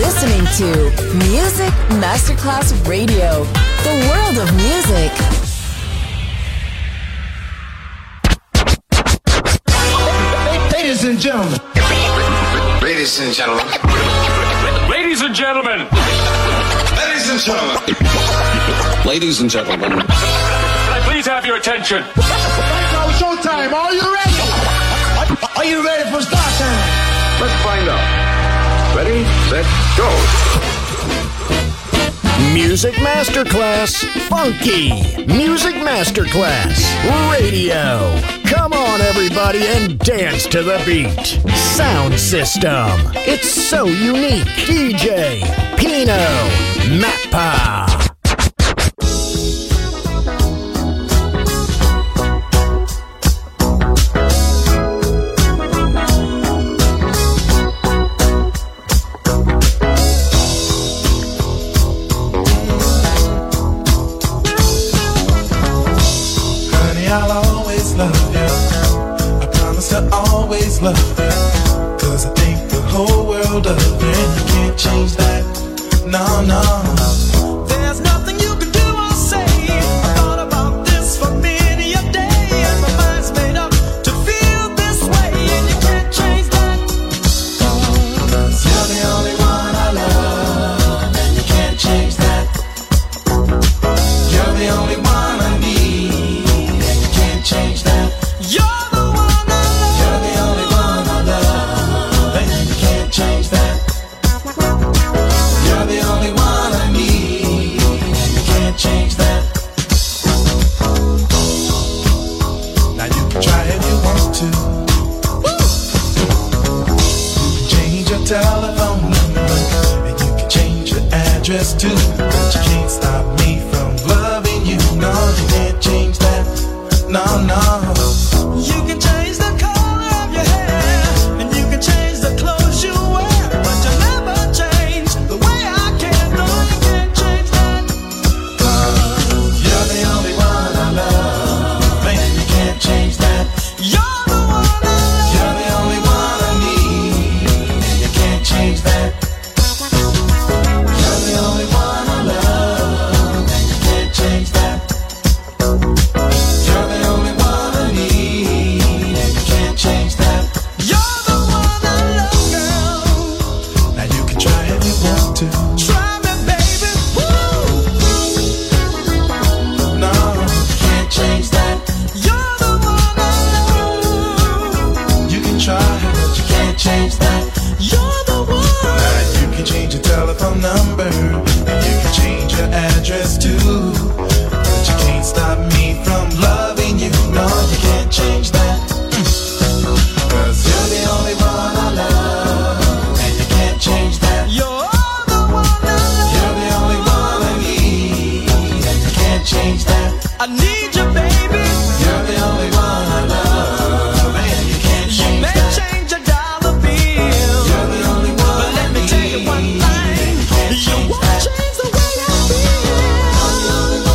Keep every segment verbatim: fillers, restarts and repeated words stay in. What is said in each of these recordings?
listening to Music Masterclass Radio, the world of music. Ladies and gentlemen. Ladies and gentlemen. Ladies and gentlemen. Ladies and gentlemen. Ladies and gentlemen. Can I please have your attention? Right now, showtime. Are you ready? Are you ready for start time? Let's find out. Ready, set, go. Music Masterclass Funky. Music Masterclass Radio. Come on, everybody, and dance to the beat. Sound system. It's so unique. D J Pino Mappa. I'll always love you. I promise to always love you. Cause I think the whole world of you, and you can't change that. No, no. There's nothing you can do or say. I thought about this for many a day, and my mind's made up to feel this way, and you can't change that. Cause you're the only one I love, and you can't change that. You're the only one I need. Change that. You're the one I love. You're the only one I love. And you can't change that. You're the only one I need. And you can't change that. Now you can try if you want to. Woo! You can change your telephone number, and you can change your address too. But you can't stop me from loving you. No, you can't change that. No, no. You can change the color of your hair, and you can change the clothes you wear, but you'll never change the way I care. No, you can't change that. Cause you're the only one I love, and you can't change that. You're the one I love. You're the only one I need, and you can't change that. You're the only one I love, and you can't change that. Change that. You're the one I love, girl. Now you can try if you want to. Try me, baby. Woo! No, you can't change that. You're the one I love. You can try, but you can't change that. You're the one. Now you can change your telephone number, and you can change your address too. But you can't stop me from loving you. No, you can't change that. Cause you're the only one I love, and you can't change that. You're the one I love. You're the only one I need, and you can't change that. I need you, baby. You're the only one I love, and you can't change that. You may change a dollar bill. You're the only one but let me tell you one thing. You won't change the way I feel. You're the only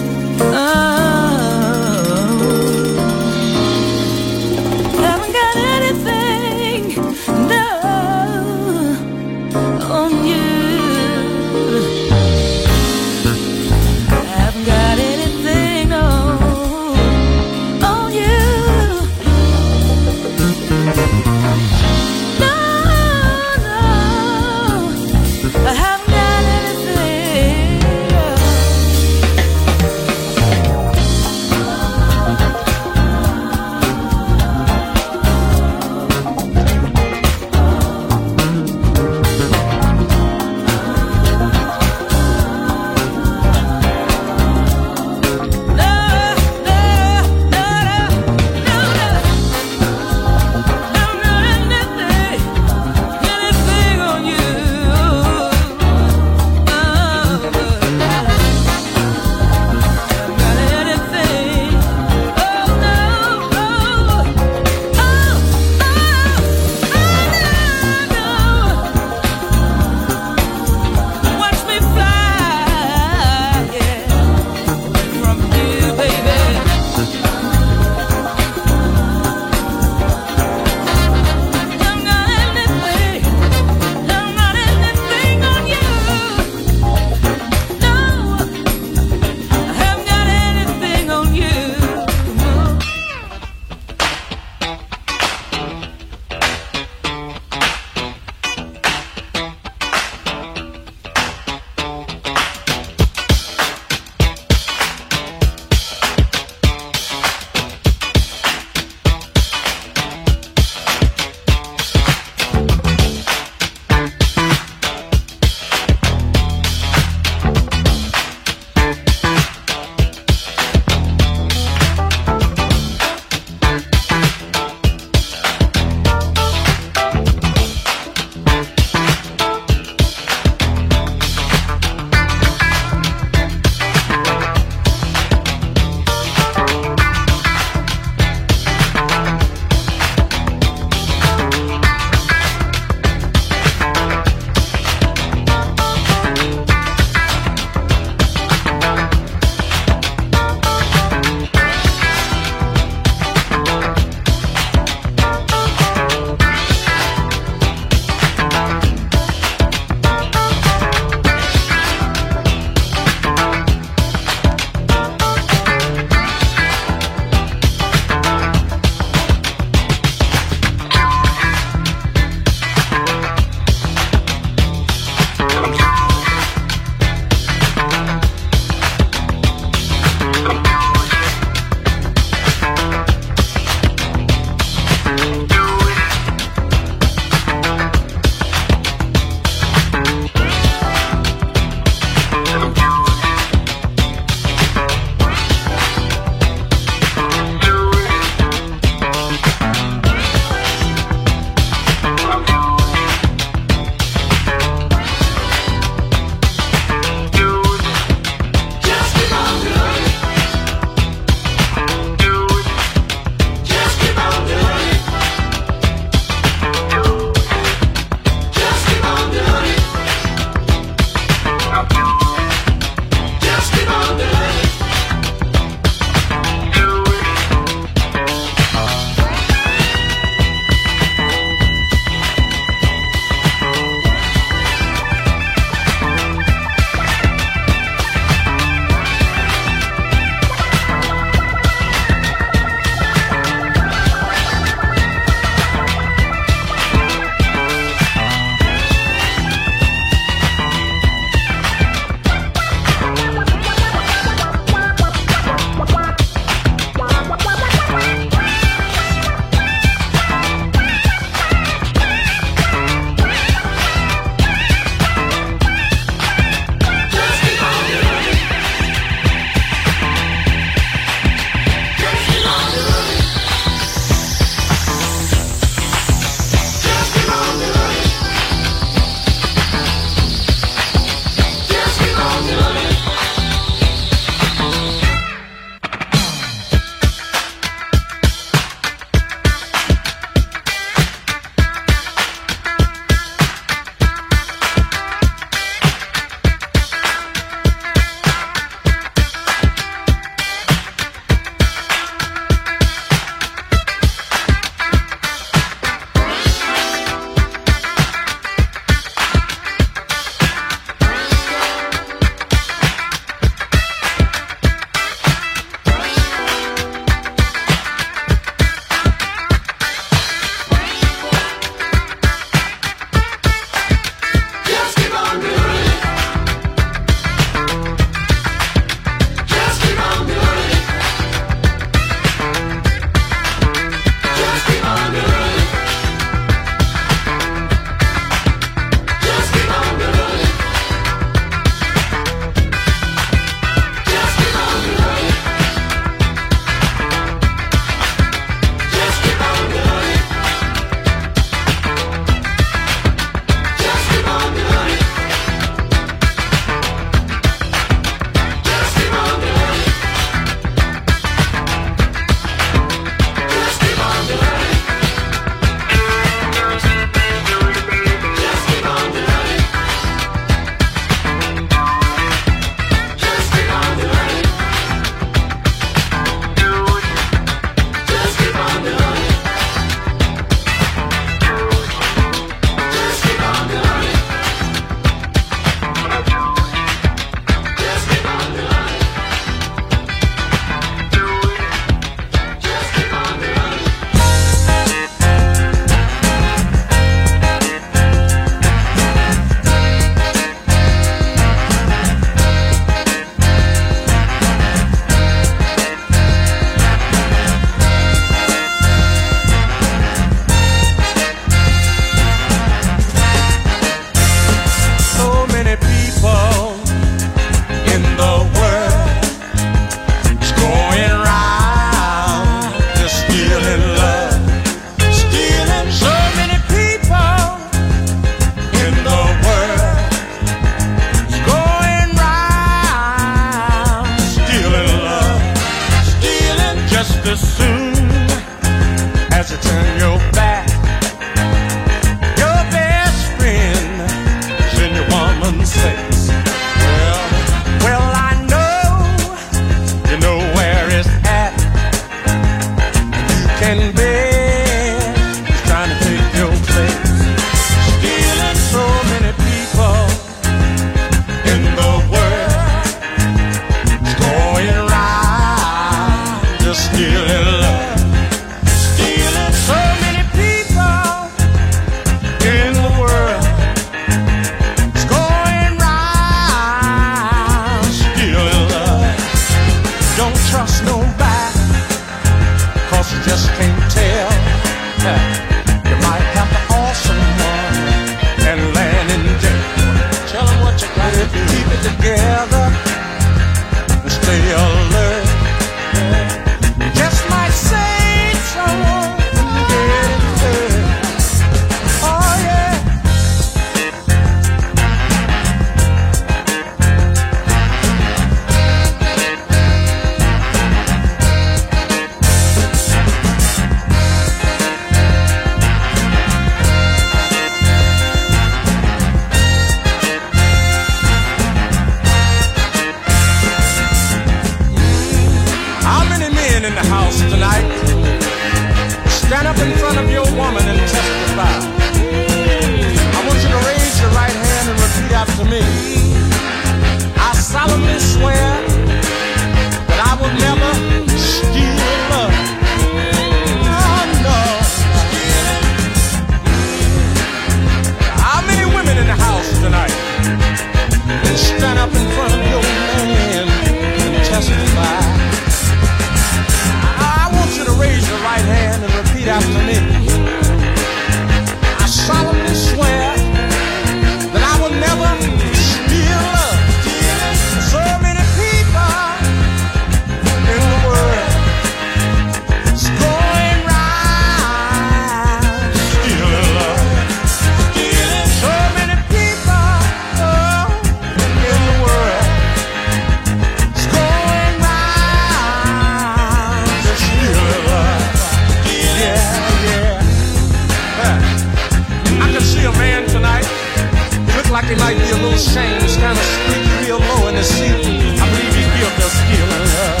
his shame. It's kind of squeak real low in his seat. I believe he's guilty of stealing love.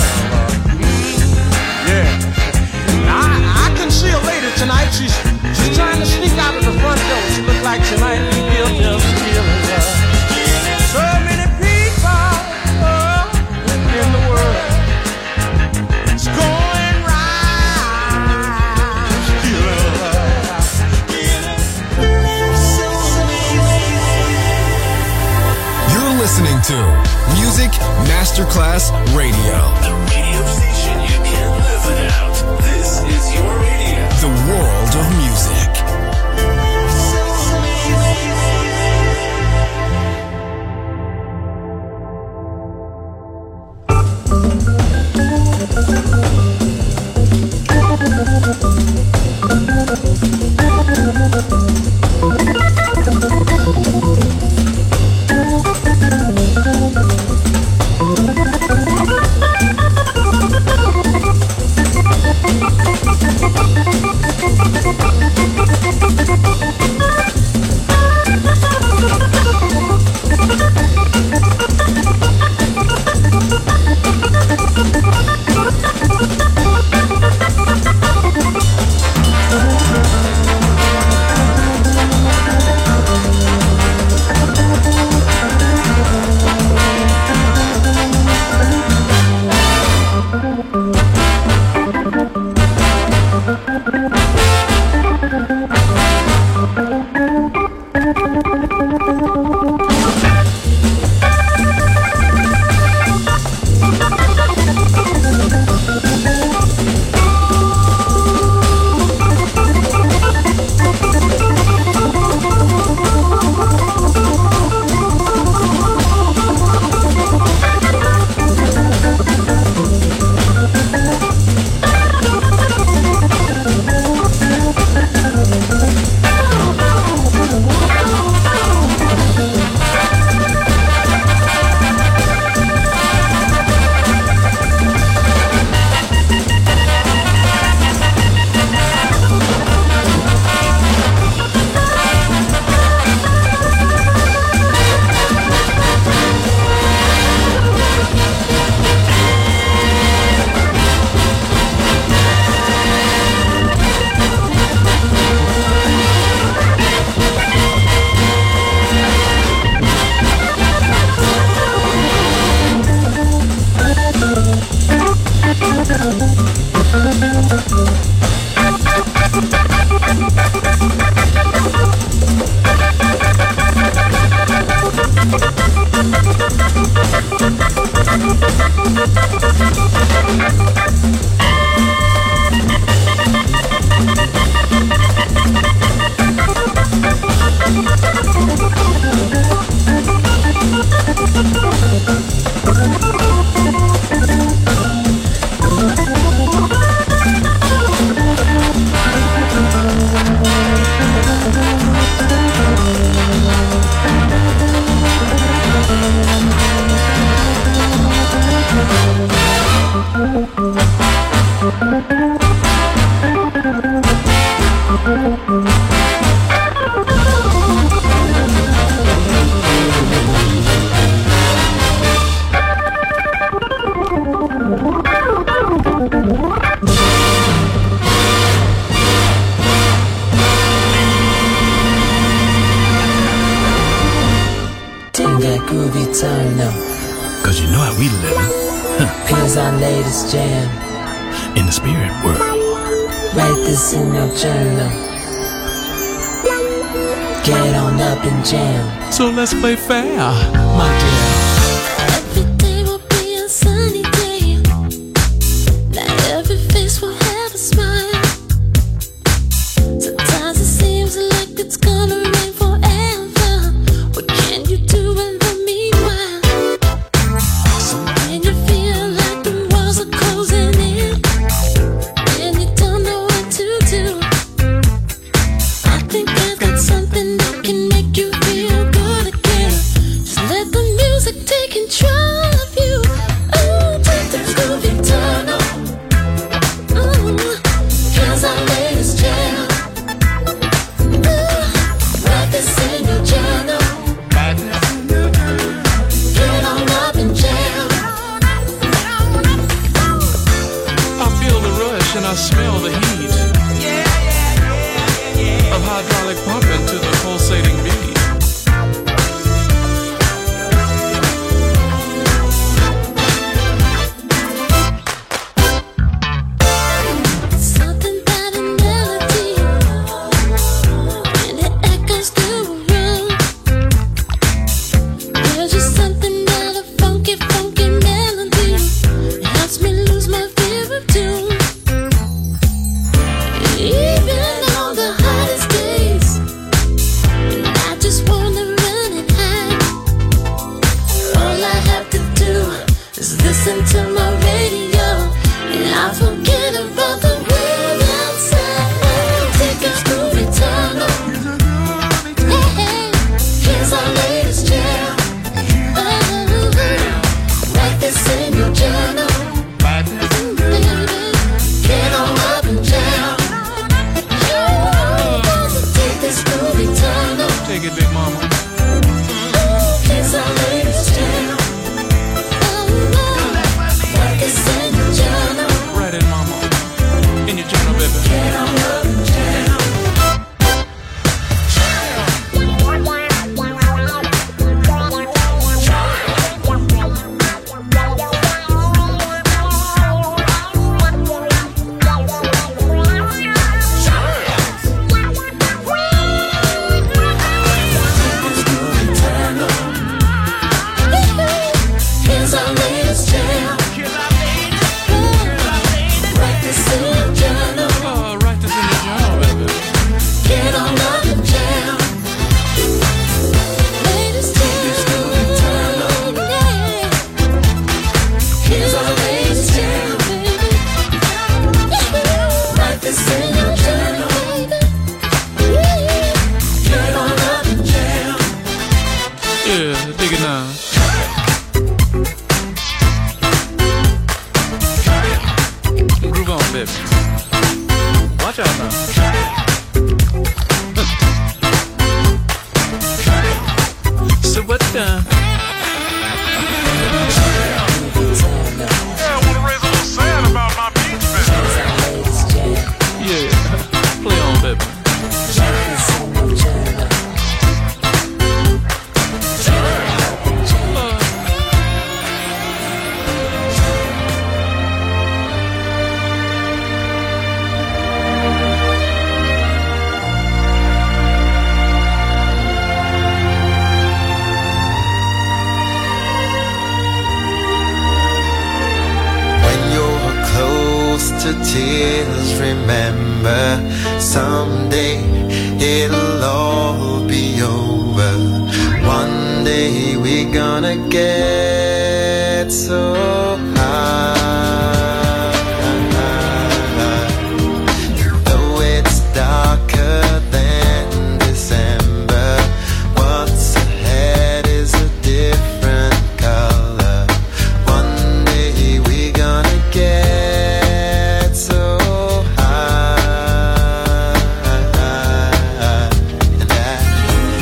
Yeah. Now, I, I can see a lady tonight. She's she's trying to sneak out of the front door. She looks like she might be guilty of stealing love. So many people oh, in the world. It's going right. Stealing love. You're listening to Music Masterclass Radio. The radio station you can't live without. This is your radio. The world of music. Cause you know how we living. Huh. Here's our latest jam. In the spirit world. Write this in your journal. Get on up and jam. So let's play fair, my dear. Every day will be a sunny day. Not every face will have a smile. Sometimes it seems like it's gonna rain forever. What can you do in the meanwhile? So when you feel like the walls are closing in and you don't know what to do, I think I've got something that can make you feel good again. Just let the music take control of you. Oh, take the groovy turn on. Ooh, here's our latest jam. Ooh, write this in your journal. smell the heat of hydraulic pumping to the pulsating beat.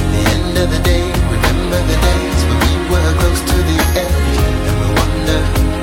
Remember the days when we were close to the edge, and we wonder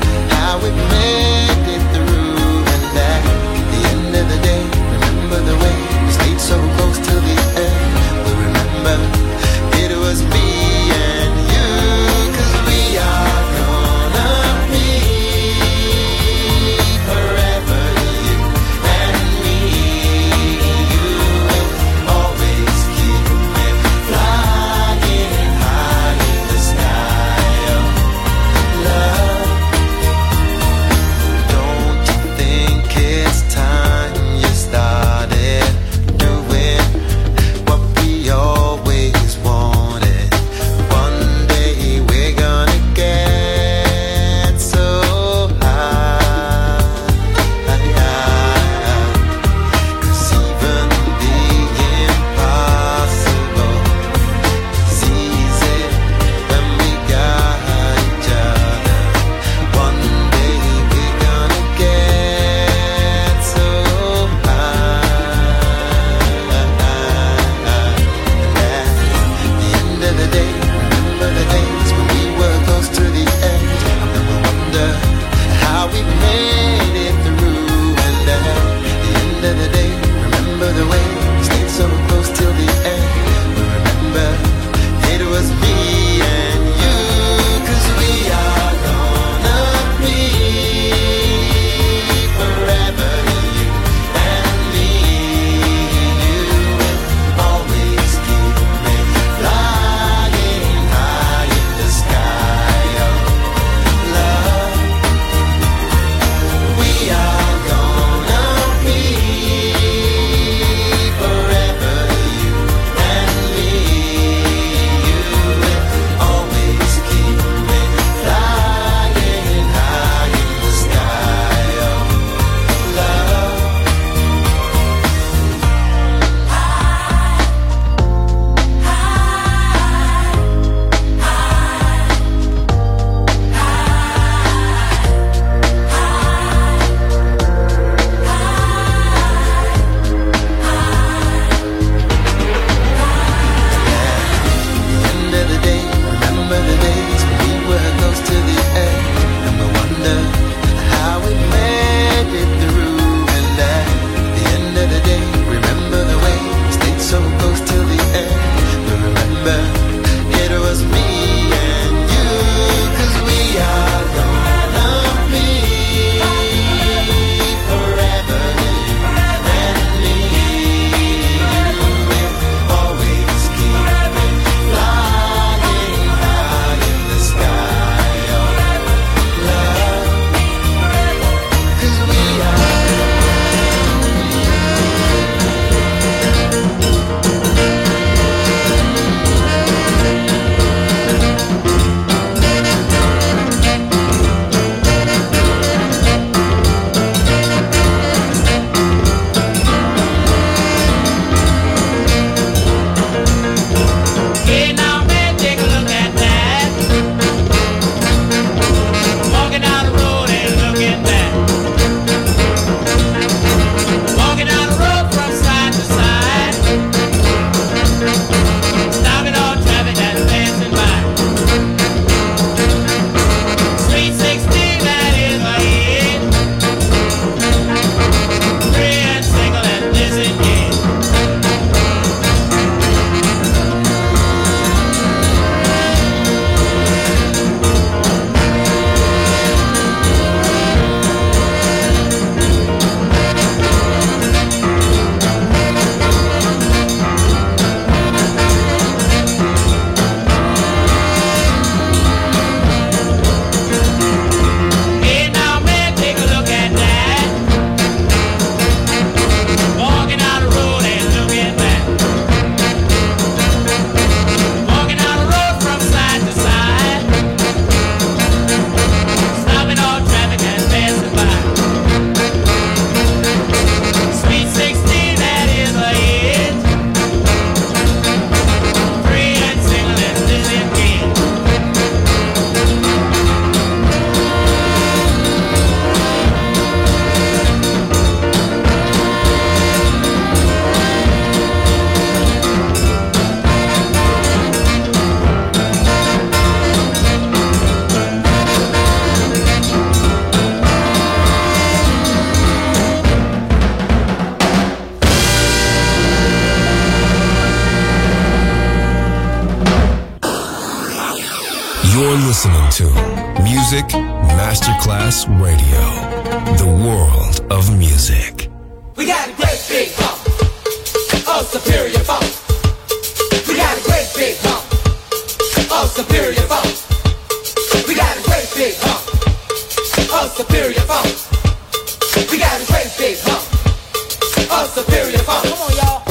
You're listening to Music Masterclass Radio, the world of music. We got a great big hump of superior funk. We got a great big hump of superior funk. We got a great big hump of superior funk. We got a great big hump of superior funk. Come on, y'all.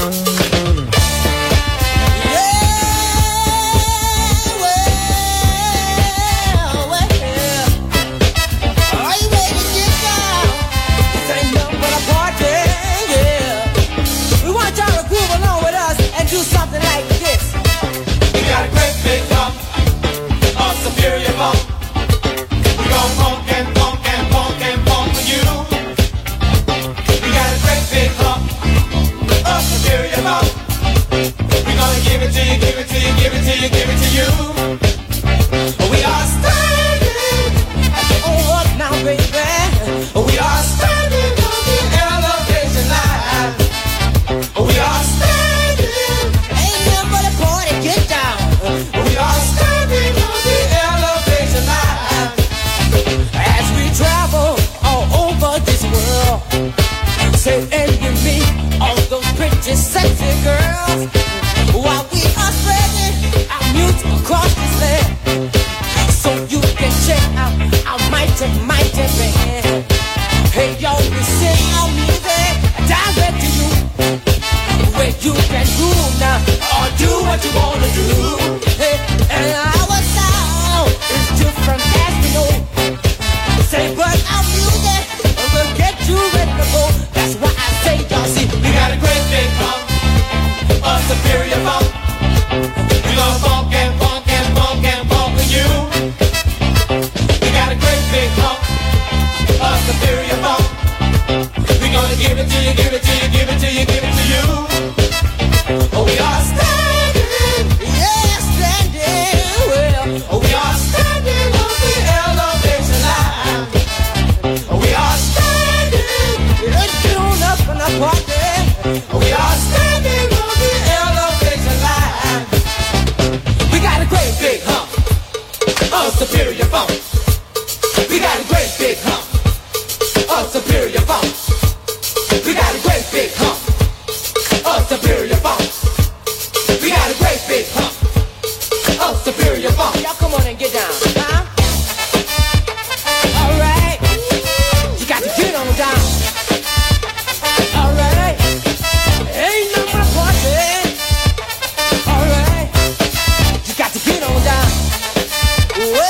Do something like this. We got a great big hump of superior funk. We gon' funk and funk and funk and funk for you. We got a great big hump of superior funk. We gonna give it to you, give it to you, give it to you, give it to you. We are standing at the old up now, baby. We are standing on the elevation line. We are standing. Get down. We are standing on the elevation line as we travel all over this world. Say and you meet all those pretty, sexy girls while we are spreading our music across this land. So you can check out our mighty, mighty band. Hey, yo, we sing our music direct to you, where you can groove now or do what you wanna do. Hey, and our sound is different as we know. Say, but our music will get you ready to go. That's why I say, y'all see, we got a great big hump of superior funk. We gon' funk and funk and funk and funk for you. We got a great big hump of superior funk. We gonna give it to you, give it to you, give it to you, give it to you. Oh, we are standing, yeah, standing well. Oh, we are standing on the elevation line. Oh, we are standing, let's get on up and up party. Oh, we are standing on the elevation line. We got a great big hump of superior funk. We got a great big hump of superior funk. We got a great big hump of superior funk. We got a great big hump of superior funk. Y'all come on and get down, huh? All right, you got to get on down. All right, ain't no more party. All right, you got to get on down. Whoa,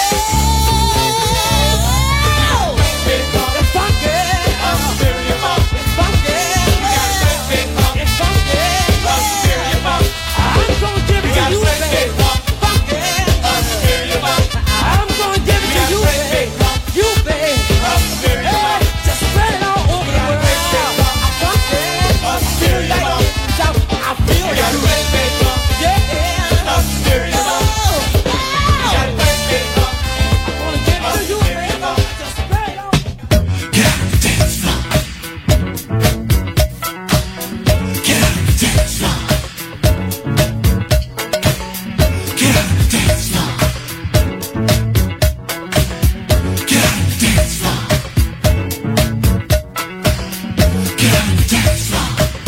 big hump, it's funky of superior funk. It's funky. We got a great big hump It's funky. of superior funk. I'm gonna give We it to got a you, great big baby. hump Funky. of superior funk. I'm gonna give it We to got a you, great big baby. hump You, baby. of superior Hey, funk. just spread it all over the got a world. great big hump I'm funky. of superior Like funk. it. So I feel We got a it. great big hump Yeah. of superior funk. Oh, We got a great big hump I'm gonna give it of to you, superior baby. funk. Just spread it all. Get out the dance floor. Get out the dance floor. Get out the dance floor. Get out the dance floor. Get out the dance floor.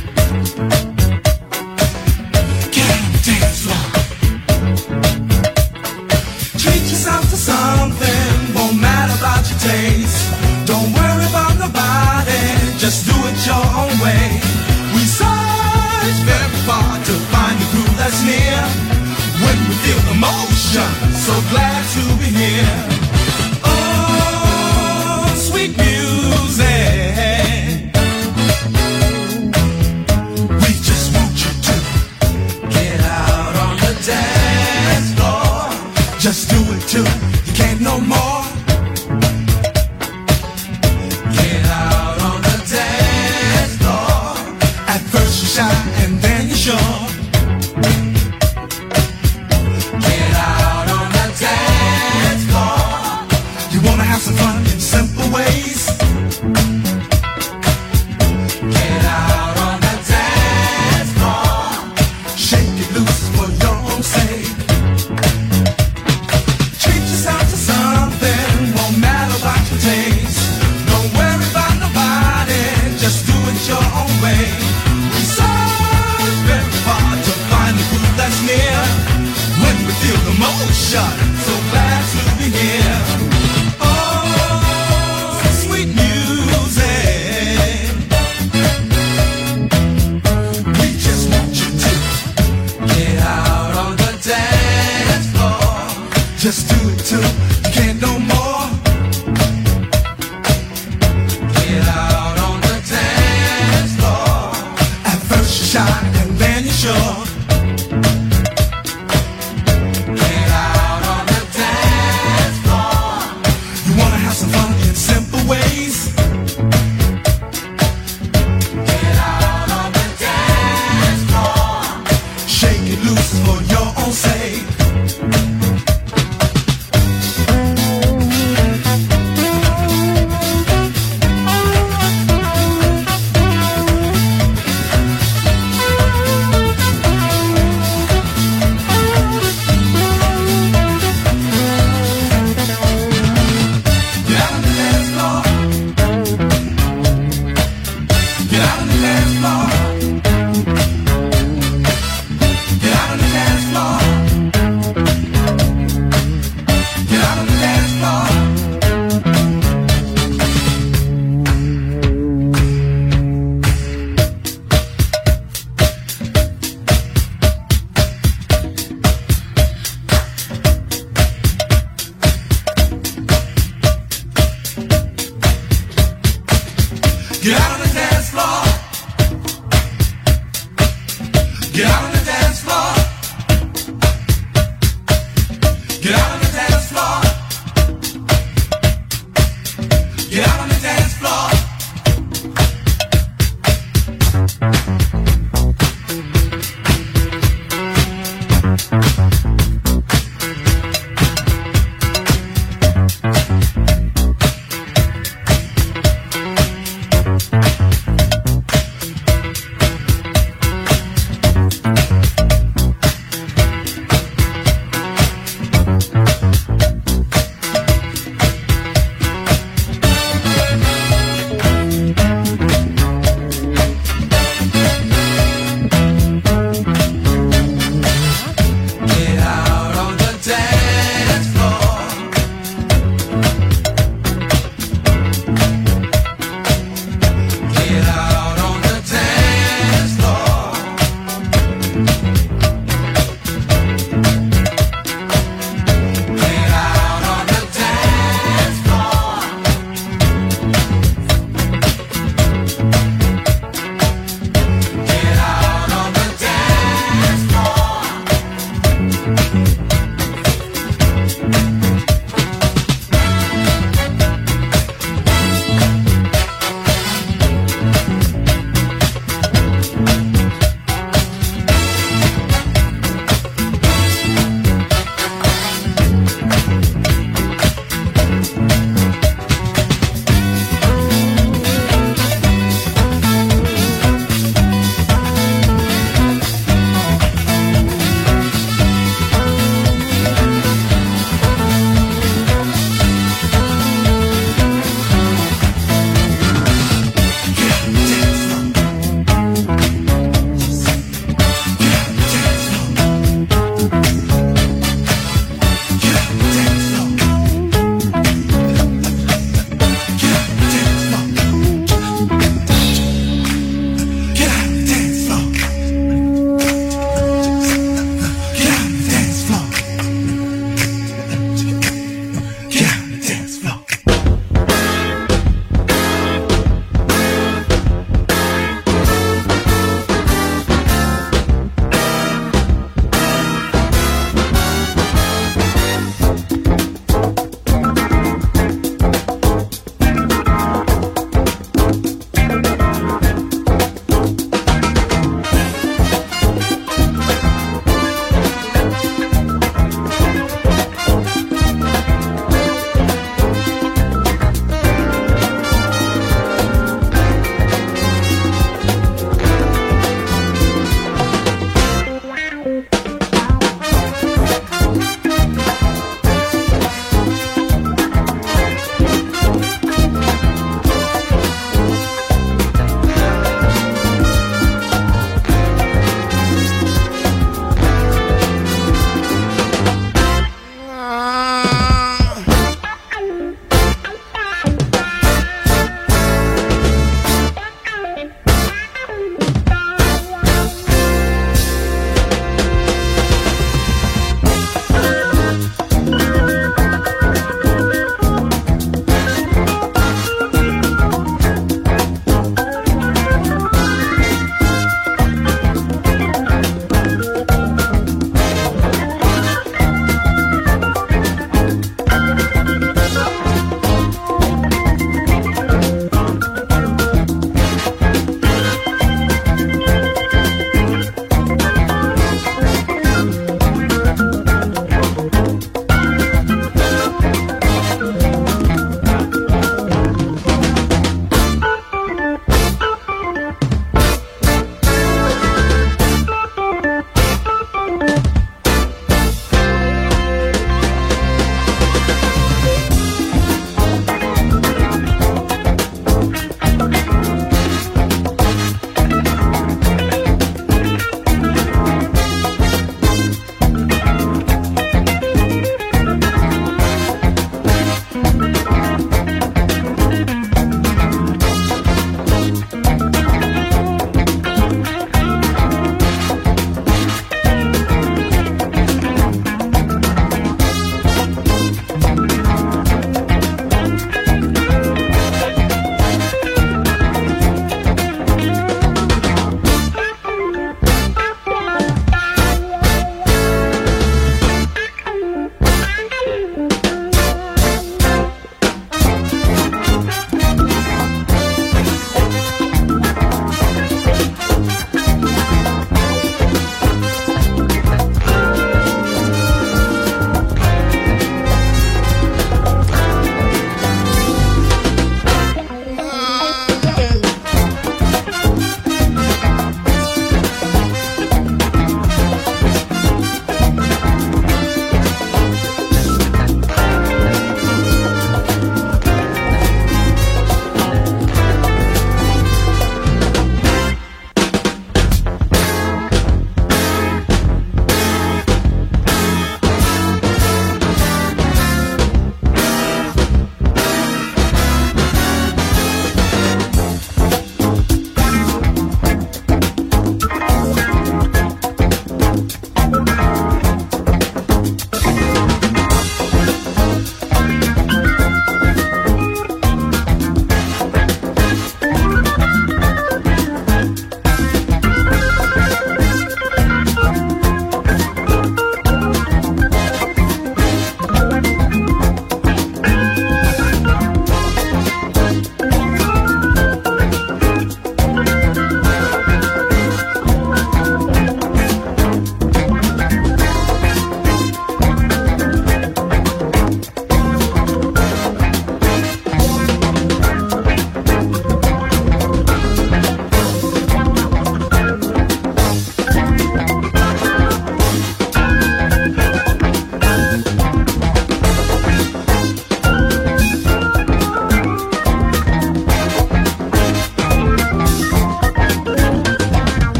Get out the dance floor. Treat yourself to something, won't matter about your taste. Don't worry about nobody, just do it your own way. We search very far to find the groove that's near. When we feel the motion, so glad to be here. Oh, sweet music. We just want you to get out on the dance floor. Just do it till you can't no more. Get out on the dance floor. At first you shy and then you're sure. Get out on the dance floor. You wanna have some fun in simple ways. Get out on the dance floor. Shake it loose for your own sake. Treat motion. So glad to be here. Oh, sweet music. We just want you to get out on the dance floor. Just do it till you can't no more. Get out on the dance floor. At first you shy and then you're sure. Get out on the dance floor. You wanna have some fun in simple ways. Get out on the dance floor. Shake it loose for your own sake.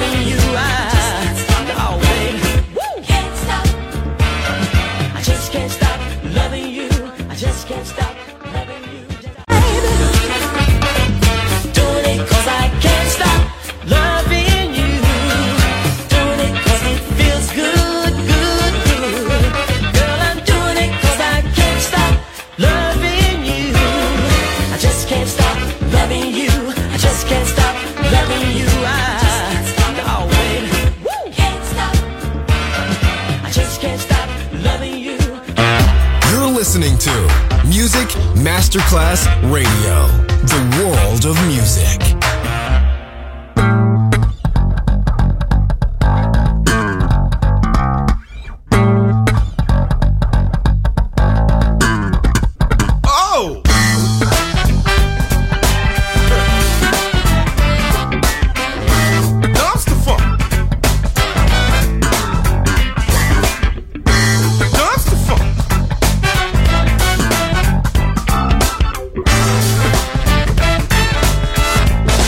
loving you. I, oh baby, woo. Can't stop. I just can't stop loving you. I just can't stop loving you. Doing it 'cause I can't stop loving you. Doing it 'cause it feels good, good, good. Girl, I'm doing it 'cause I can't stop loving you. I just can't stop loving you. I just can't stop loving you. listening to Music Masterclass Radio, the world of music. Dumpster funk.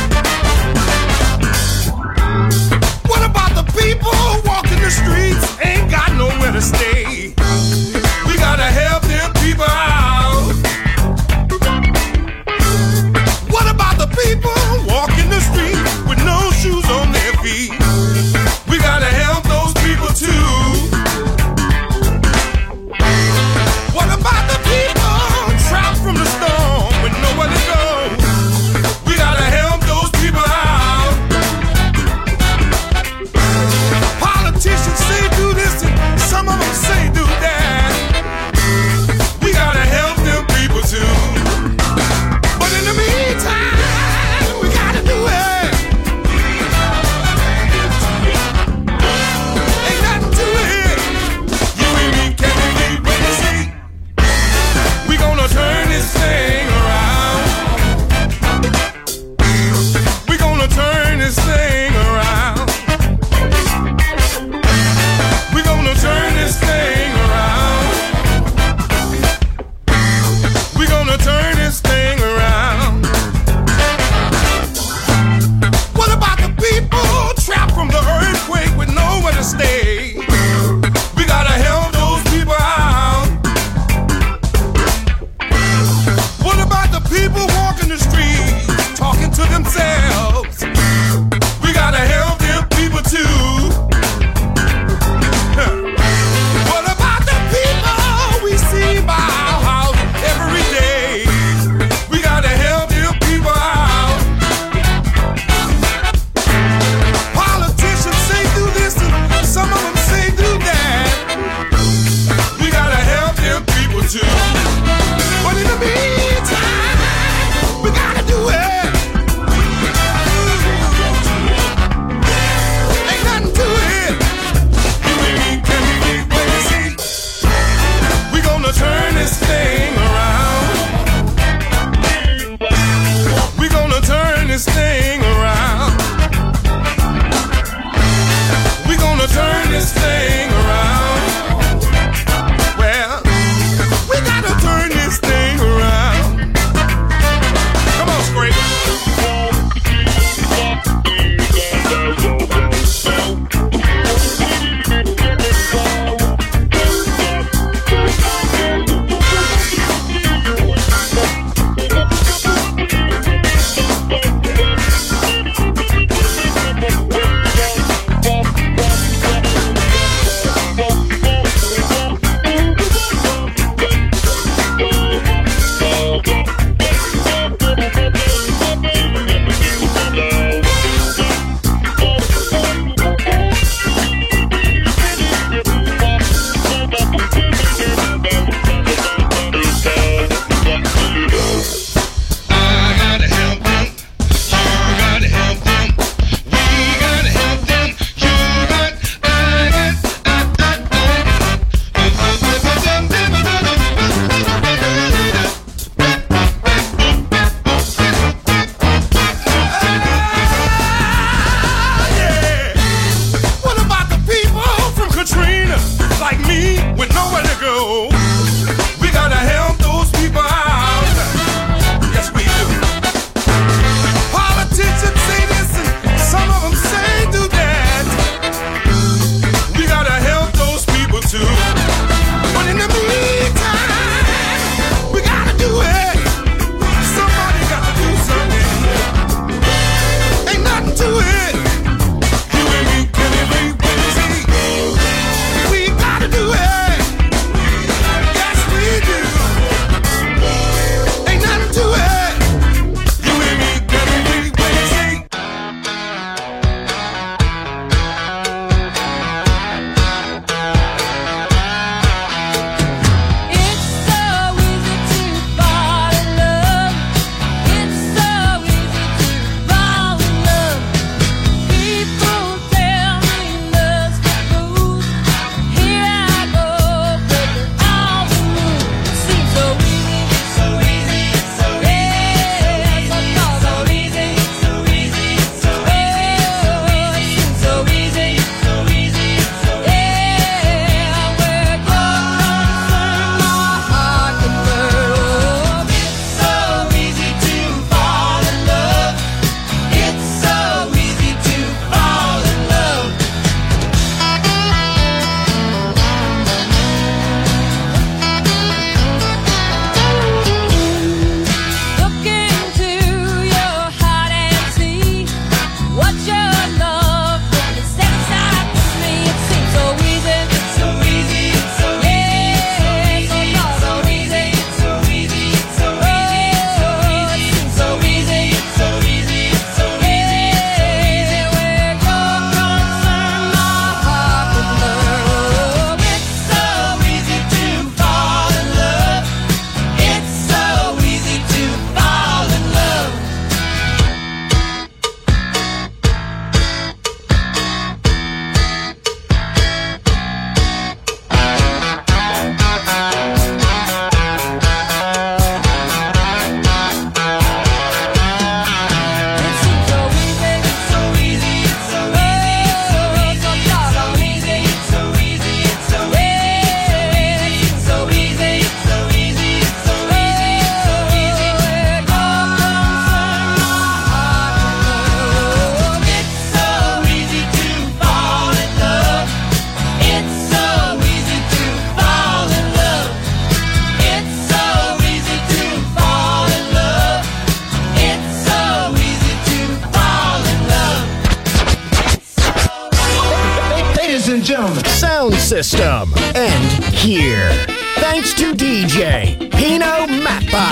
and gentlemen. Sound system. And here. Thanks to D J Pino Mappa.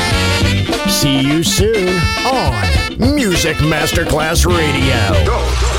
See you soon on Music Masterclass Radio. Go.